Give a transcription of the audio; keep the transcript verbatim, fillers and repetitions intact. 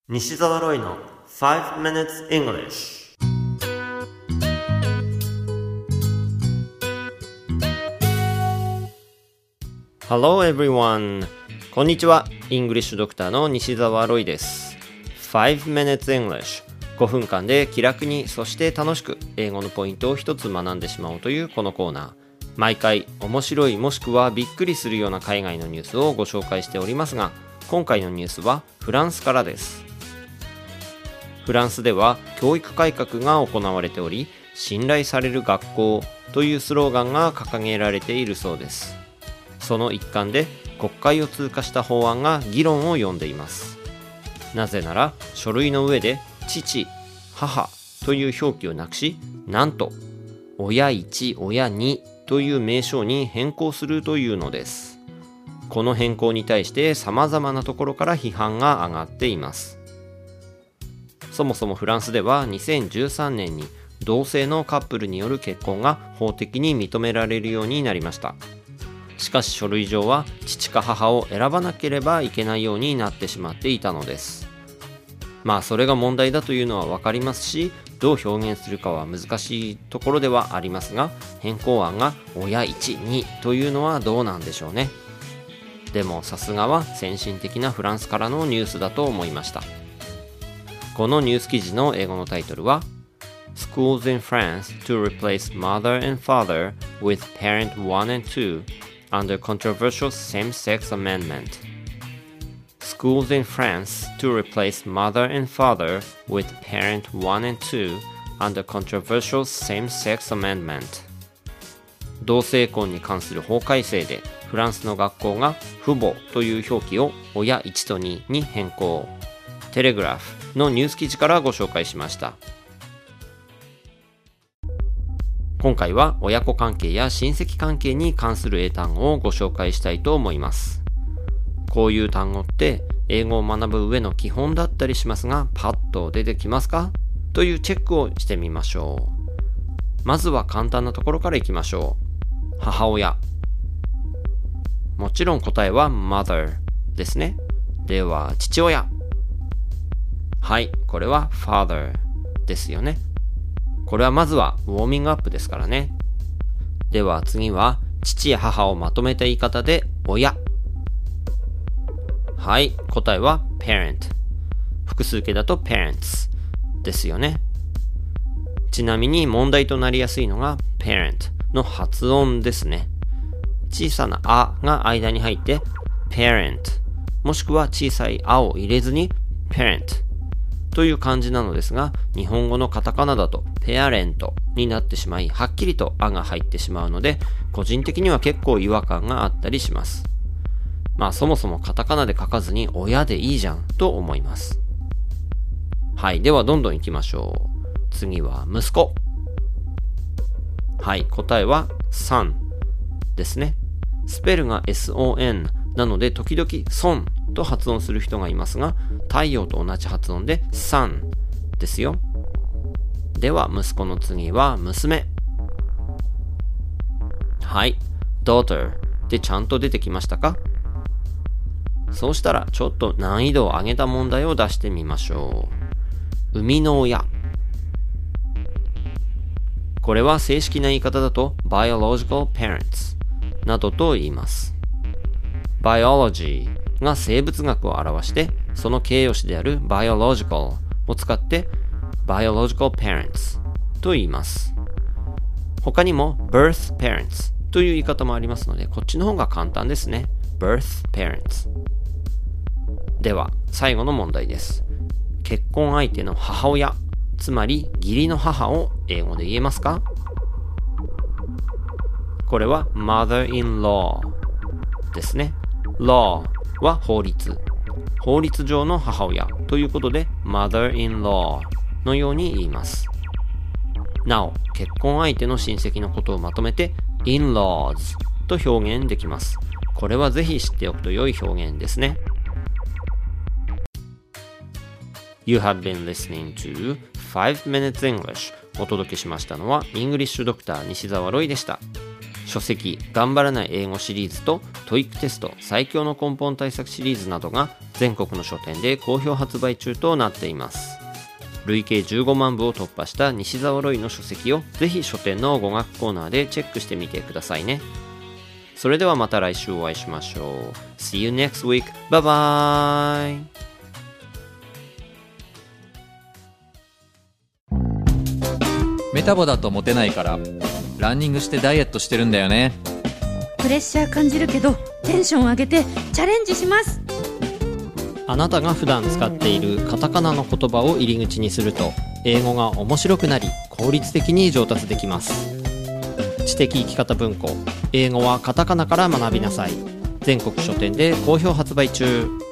西澤ロイの five minutes English。 Hello everyone。 こんにちは。イングリッシュドクターの西澤ロイです。 five minutes English、 ごふんかんで気楽にそして楽しく英語のポイントを一つ学んでしまおうというこのコーナー。毎回面白いもしくはびっくりするような海外のニュースをご紹介しておりますが、今回のニュースはフランスからです。フランスでは教育改革が行われており、信頼される学校というスローガンが掲げられているそうです。その一環で国会を通過した法案が議論を呼んでいます。なぜなら書類の上で父、母という表記をなくし、なんと親いち、親にという名称に変更するというのです。この変更に対して様々なところから批判が上がっています。そもそもフランスではにせんじゅうさんねんに同性のカップルによる結婚が法的に認められるようになりました。しかし書類上は父か母を選ばなければいけないようになってしまっていたのです。まあそれが問題だというのはわかりますし、どう表現するかは難しいところではありますが、変更案が親いち、にというのはどうなんでしょうね。でもさすがは先進的なフランスからのニュースだと思いました。このニュース記事の英語のタイトルは Schools in France to replace mother and father with parent one and two under controversial same-sex amendment。 Schools in France to replace mother and father with parent one and two under controversial same-sex amendment。 同性婚に関する法改正でフランスの学校が父母という表記を親いちとにに変更。テレグラフのニュース記事からご紹介しました。今回は親子関係や親戚関係に関する英単語をご紹介したいと思います。こういう単語って英語を学ぶ上の基本だったりしますが、パッと出てきますかというチェックをしてみましょう。まずは簡単なところからいきましょう。母親。もちろん答えは mother ですね。では父親。はい、これは father ですよね。これはまずはウォーミングアップですからね。では次は父や母をまとめた言い方で親。はい、答えは parent。複数形だと parents ですよね。ちなみに問題となりやすいのが parent の発音ですね。小さなあが間に入って parent、 もしくは小さいあを入れずに parentという感じなのですが、日本語のカタカナだとペアレントになってしまい、はっきりとあが入ってしまうので、個人的には結構違和感があったりします。まあそもそもカタカナで書かずに親でいいじゃんと思います。はい、ではどんどん行きましょう。次は息子。はい、答えは son ですね。スペルが エスオーエヌ なので時々 son と発音する人がいますが、太陽と同じ発音で sun ですよ。では息子の次は娘。はい、daughter でちゃんと出てきましたか？そうしたらちょっと難易度を上げた問題を出してみましょう。生みの親。これは正式な言い方だと biological parents などと言います。biology が生物学を表して、その形容詞である biological を使って biological parents と言います。他にも birth parents という言い方もありますので、こっちの方が簡単ですね。birth parents。では最後の問題です。結婚相手の母親、つまり義理の母を英語で言えますか？これは mother-in-law ですね。law は法律。法律上の母親ということで mother-in-law のように言います。なお、結婚相手の親戚のことをまとめて in-laws と表現できます。これはぜひ知っておくと良い表現ですね。You have been listening to five minutes English。 お届けしましたのはイングリッシュドクター西澤ロイでした。 書籍頑張らない英語シリーズと トイック テスト最強の根本対策シリーズなどが全国の書店で好評発売中となっています。累計じゅうごまんぶを突破した西澤ロイの書籍をぜひ書店の語学コーナーでチェックしてみてくださいね。それではまた来週お会いしましょう。 See you next week. Bye bye. メタボだとモテないからランニングしてダイエットしてるんだよね。 プレッシャー感じるけどテンション上げてチャレンジします。 あなたが普段使っているカタカナの言葉を入り口にすると英語が面白くなり効率的に上達できます。知的生き方文庫、英語はカタカナから学びなさい。全国書店で好評発売中。